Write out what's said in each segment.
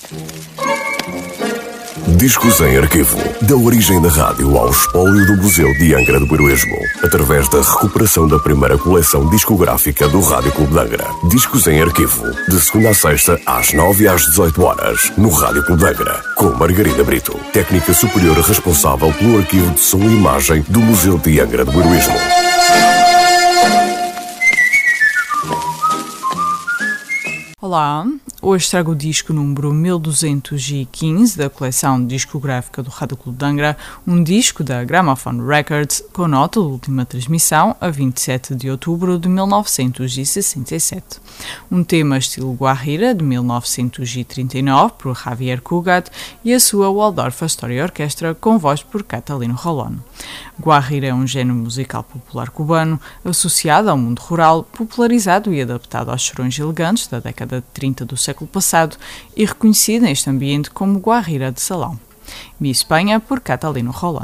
Discos em arquivo. Da origem da rádio ao espólio do Museu de Angra do Heroísmo, através da recuperação da primeira coleção discográfica do Rádio Clube de Angra. Discos em arquivo. De segunda a sexta, às 9 às 18 horas, no Rádio Clube de Angra, com Margarida Brito, técnica superior responsável pelo arquivo de som e imagem do Museu de Angra do Heroísmo. Olá, hoje trago o disco número 1215 da coleção discográfica do Rádio Clube de Angra, um disco da Gramophone Records com nota de última transmissão a 27 de outubro de 1967. Um tema estilo Guajira de 1939 por Javier Cugat e a sua Waldorf Astoria Orquestra com voz por Catalino Rolón. Guajira é um género musical popular cubano associado ao mundo rural, popularizado e adaptado aos chorões elegantes da década de 30 do século passado e reconhecido neste ambiente como Guajira de salão. Mi Espanha por Catalino Rolón.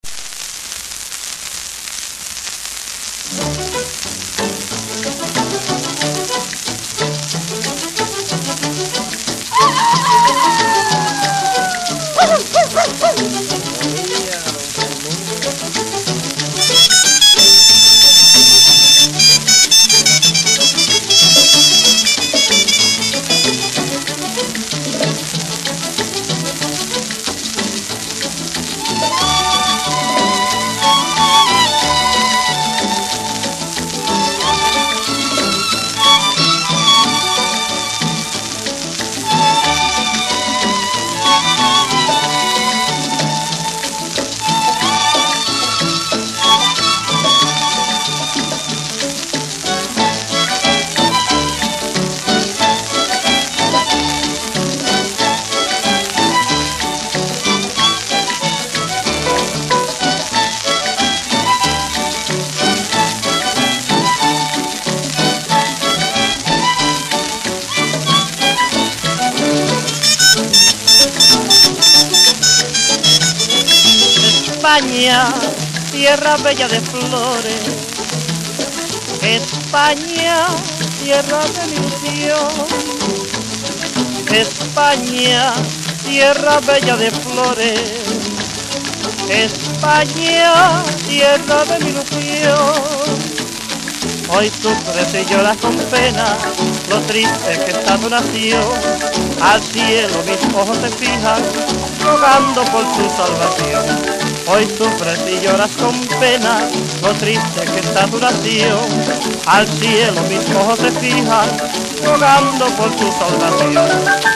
España, tierra bella de flores, España, tierra de mi ilusión, España, tierra bella de flores, España, tierra de mi ilusión. Hoy sufres y lloras con pena lo triste que está tu nación. Al cielo mis ojos se fijan, rogando por tu salvación. Hoy sufres y lloras con pena lo triste que está tu nación. Al cielo mis ojos se fijan, rogando por tu salvación.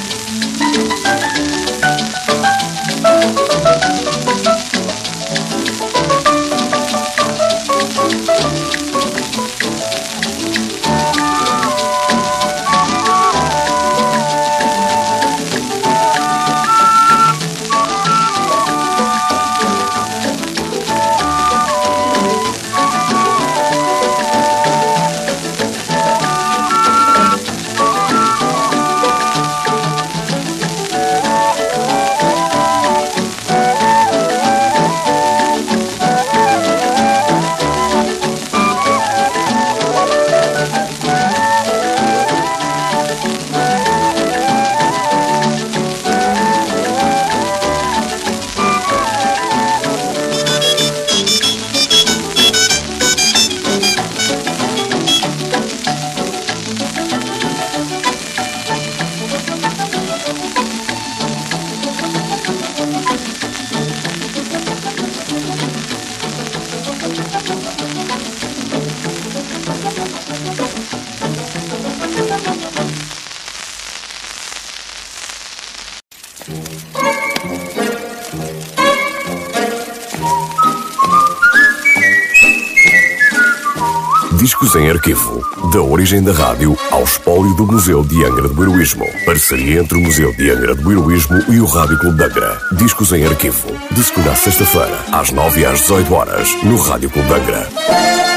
Discos em arquivo. Da origem da rádio ao espólio do Museu de Angra do Heroísmo. Parceria entre o Museu de Angra do Heroísmo e o Rádio Clube de Angra. Discos em arquivo. De segunda a sexta-feira, às 9 às 18 horas, no Rádio Clube de Angra.